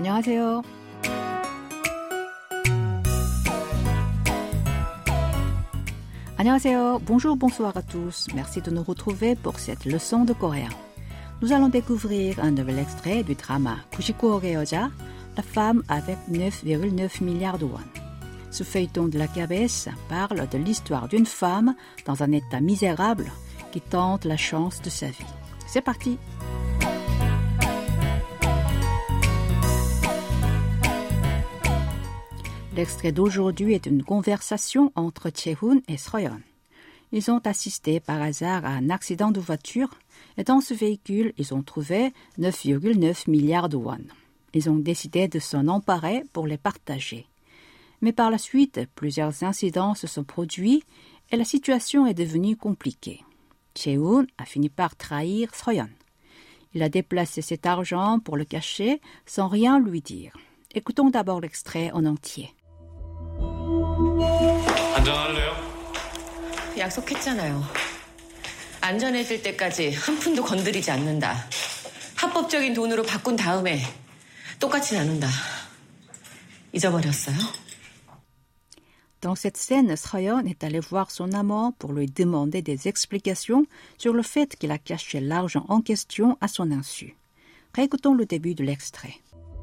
안녕하세요. 안녕하세요. Bonjour, bonsoir à tous. Merci de nous retrouver pour cette leçon de coréen. Nous allons découvrir un nouvel extrait du drama 99억의 여자, la femme avec 9,9 milliards de won. Ce feuilleton de la KBS parle de l'histoire d'une femme dans un état misérable qui tente la chance de sa vie. C'est parti! L'extrait d'aujourd'hui est une conversation entre Chae-hoon et Seo-yeon. Ils ont assisté par hasard à un accident de voiture et dans ce véhicule, ils ont trouvé 9,9 milliards de won. Ils ont décidé de s'en emparer pour les partager. Mais par la suite, plusieurs incidents se sont produits et la situation est devenue compliquée. Chae-hoon a fini par trahir Seo-yeon. Il a déplacé cet argent pour le cacher sans rien lui dire. Écoutons d'abord l'extrait en entier. 안전할래요? 약속했잖아요. 안전해질 때까지 한 푼도 건드리지 않는다. 합법적인 돈으로 바꾼 다음에 똑같이 나눈다. 잊어버렸어요? Dans cette scène, Seo-yeon est allé voir son amant pour lui demander des explications sur le fait qu'il a caché l'argent en question à son insu. Réécoutons le début de l'extrait.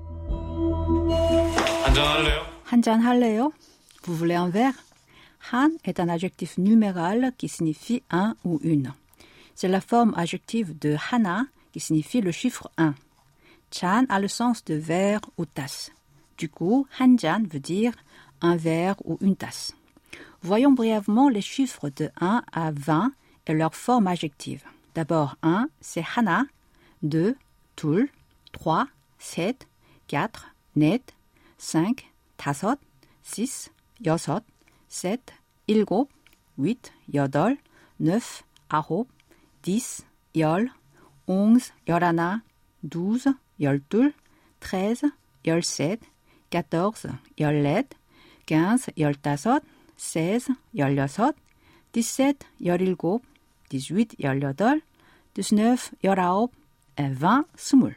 안전할래요? 한잔 할래요? Vous voulez un verre? Han est un adjectif numéral qui signifie un ou une. C'est la forme adjective de hana qui signifie le chiffre 1. Chan a le sens de verre ou tasse. Du coup, 한잔 veut dire un verre ou une tasse. Voyons brièvement les chiffres de 1 à 20 et leur forme adjective. D'abord, 1, c'est hana, 2, 둘, 3, 셋, 4, 넷, 5, 다섯, 6, 여섯, 셋, 일곱, 8, 여덟, 9, 아홉, 10, 열, 11, 열하나, 12, 열둘, 13, 열셋, 14, 열넷, 15, 열다섯, 16, 열여섯, 17, 열일곱, 18, 열여덟, 19, 열아홉, et 20, 20.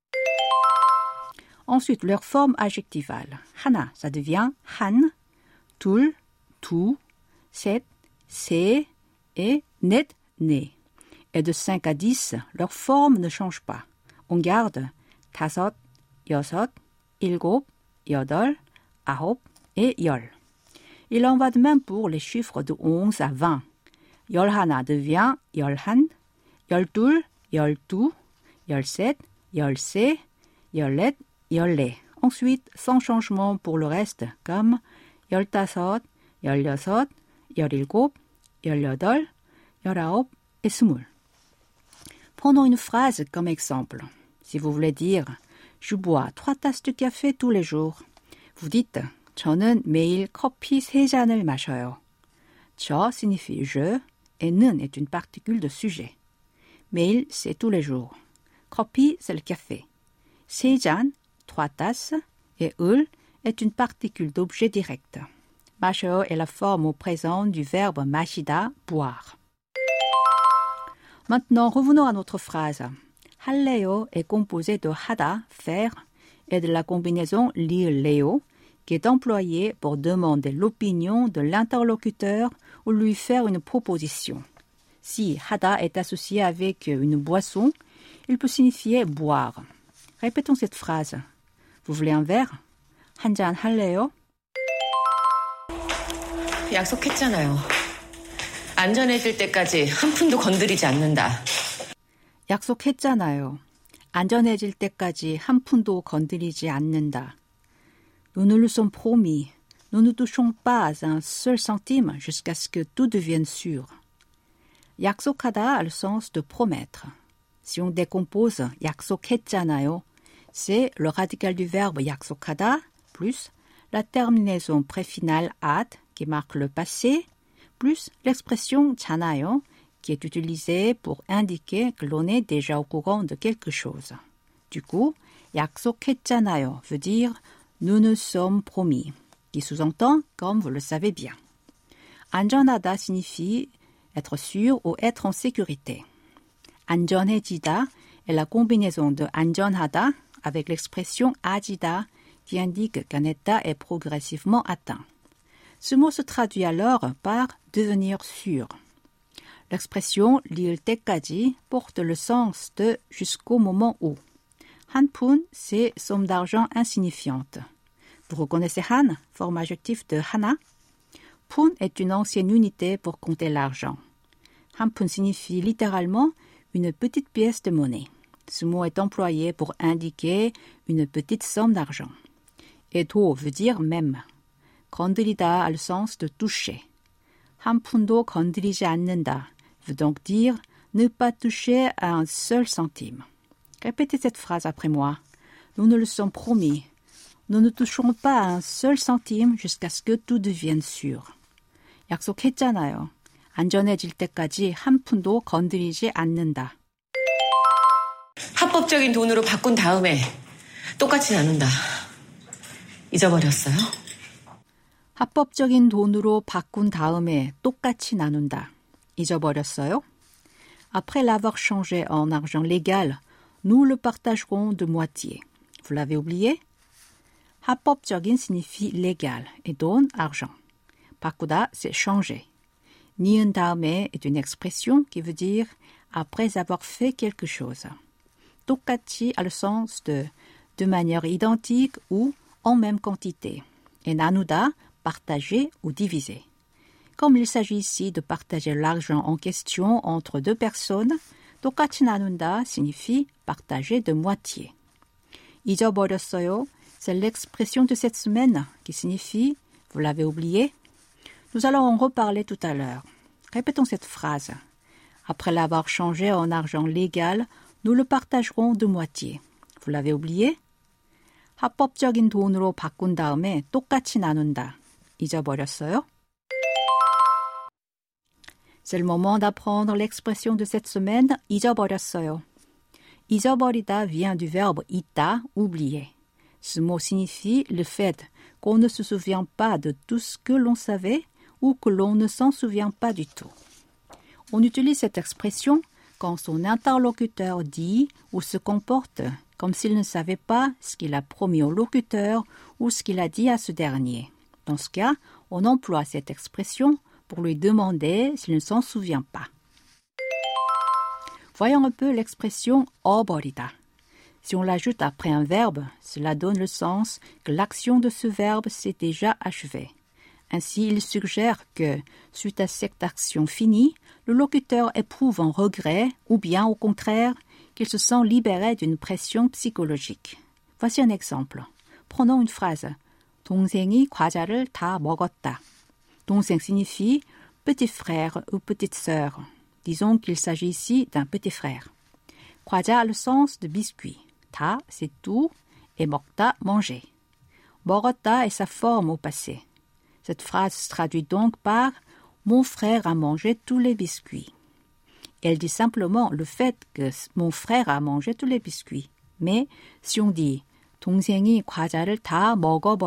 Ensuite, leur forme adjectivale. 하나, ça devient 한, 둘, 두, 셋, 세 et 넷, 네. Et de 5 à 10, leur forme ne change pas. On garde 다섯, 여섯, 일곱, 여덟, 아홉 et 열. Il en va de même pour les chiffres de 11 à 20. 열하나 devient 열한, 열둘, 열두, 열셋, 열세, 열넷, 열네. Ensuite, sans changement pour le reste, comme 열다섯, 열여섯, 열일곱, 열여덟, 열아홉 et 20. Prenons une phrase comme exemple. Si vous voulez dire « Je bois 3 tasses de café tous les jours », vous dites « 저는 매일 커피 3잔을 마셔요 ». 저 signifie « je » et « 는 » est une particule de sujet. 매일, c'est tous les jours. 커피, c'est le café. 3잔, 3 tasses, et 을 est une particule d'objet direct. 마셔요 est la forme au présent du verbe 마시다, boire. Maintenant, revenons à notre phrase. 할래요 est composé de 하다, faire, et de la combinaison 리을래요, qui est employée pour demander l'opinion de l'interlocuteur ou lui faire une proposition. Si 하다 est associé avec une boisson, il peut signifier boire. Répétons cette phrase. Vous voulez un verre? 한잔 할래요? 약속했잖아요. 안전해질 때까지 한 푼도 건드리지 않는다. 약속했잖아요. 안전해질 때까지 한 푼도 건드리지 않는다. Nous nous le sommes promis. Nous ne touchons pas un seul centime jusqu'à ce que tout devienne sûr. 약속하다 a le sens de promettre. Si on décompose 약속했잖아요, c'est le radical du verbe 약속하다 plus la terminaison préfinale ad qui marque le passé plus l'expression 잖아요 qui est utilisée pour indiquer que l'on est déjà au courant de quelque chose. Du coup, 약속했잖아요 veut dire nous nous sommes promis, qui sous-entend comme vous le savez bien. 안전하다 signifie être sûr ou être en sécurité. 안전해지다 est la combinaison de 안전하다, avec l'expression 아지다 qui indique qu'un état est progressivement atteint. Ce mot se traduit alors par devenir sûr. L'expression 리을 때까지 porte le sens de jusqu'au moment où. 한 푼, c'est somme d'argent insignifiante. Vous reconnaissez 한, forme adjectif de 하나? 푼 est une ancienne unité pour compter l'argent. 한 푼 signifie littéralement une petite pièce de monnaie. Ce mot est employé pour indiquer une petite somme d'argent. Et 도 veut dire même. 건드리다 a le sens de toucher. 한 푼도 건드리지 않는다 veut donc dire ne pas toucher à un seul centime. Répétez cette phrase après moi. Nous nous le sommes promis. Nous ne toucherons pas à un seul centime jusqu'à ce que tout devienne sûr. 약속했잖아요. 안전해질 때까지 한 푼도 건드리지 않는다. 합법적인 돈으로 바꾼 다음에 똑같이 나눈다. 잊어버렸어요? 합법적인 돈으로 바꾼 다음에 똑같이 나눈다. 잊어버렸어요? Après l'avoir changé en argent légal, nous le partagerons de moitié. Vous l'avez oublié? 합법적인 signifie légal et 돈, argent. 바꾸다, c'est changer. 니은 다음에 est une expression qui veut dire après avoir fait quelque chose. 똑같이 a le sens de manière identique ou en même quantité. Et 나누다, partager ou diviser. Comme il s'agit ici de partager l'argent en question entre deux personnes, 똑같이 나눈다 signifie partager de moitié. 잊어버렸어요, c'est l'expression de cette semaine qui signifie vous l'avez oublié. Nous allons en reparler tout à l'heure. Répétons cette phrase. Après l'avoir changé en argent légal, nous le partagerons de moitié. Vous l'avez oublié? 합법적인 돈으로 바꾼 다음에 똑같이 나눈다. 잊어버렸어요? C'est le moment d'apprendre l'expression de cette semaine, 잊어버렸어요. 잊어버리다 vient du verbe 잊다, oublier. Ce mot signifie le fait qu'on ne se souvient pas de tout ce que l'on savait ou que l'on ne s'en souvient pas du tout. On utilise cette expression quand son interlocuteur dit ou se comporte comme s'il ne savait pas ce qu'il a promis au locuteur ou ce qu'il a dit à ce dernier. Dans ce cas, on emploie cette expression pour lui demander s'il ne s'en souvient pas. Voyons un peu l'expression 어버리다. Si on l'ajoute après un verbe, cela donne le sens que l'action de ce verbe s'est déjà achevée. Ainsi, il suggère que, suite à cette action finie, le locuteur éprouve un regret ou bien, au contraire, qu'il se sent libéré d'une pression psychologique. Voici un exemple. Prenons une phrase. 동생이 과자를 다 먹었다. 동생 signifie petit frère ou petite sœur. Disons qu'il s'agit ici d'un petit frère. 과자 a le sens de biscuit. 다, c'est tout, et 먹다, manger. 먹었다 est sa forme au passé. Cette phrase se traduit donc par « Mon frère a mangé tous les biscuits ». Elle dit simplement le fait que mon frère a mangé tous les biscuits. Mais si on dit « 동생이 과자를 다 먹어버렸다 »,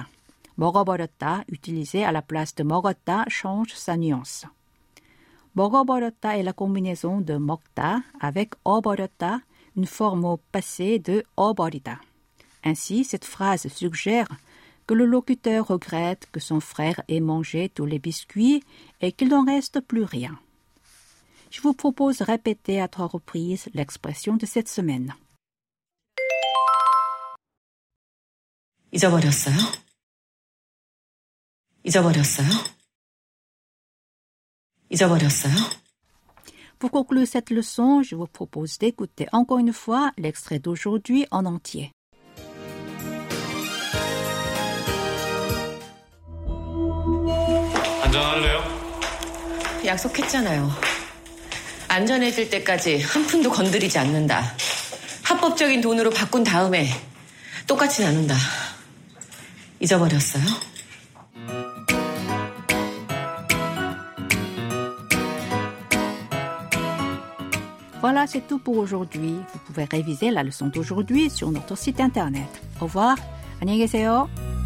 먹어버렸다, utilisé à la place de 먹었다, change sa nuance. 먹어버렸다 est la combinaison de 먹다 avec 어버렸다, une forme au passé de 어버리다. Ainsi, cette phrase suggère que le locuteur regrette que son frère ait mangé tous les biscuits et qu'il n'en reste plus rien. Je vous propose de répéter à 3 reprises l'expression de cette semaine. 잊어버렸어요? 잊어버렸어요? 잊어버렸어요? Pour conclure cette leçon, je vous propose d'écouter encore une fois l'extrait d'aujourd'hui en entier. 안전할래요? 약속했잖아요. 안전해질 때까지 한 푼도 건드리지 않는다. 합법적인 돈으로 바꾼 다음에 똑같이 나눈다. 잊어버렸어요? Voilà, c'est tout pour aujourd'hui. Vous pouvez réviser la leçon d'aujourd'hui sur notre site internet. Au revoir. 안녕히 계세요.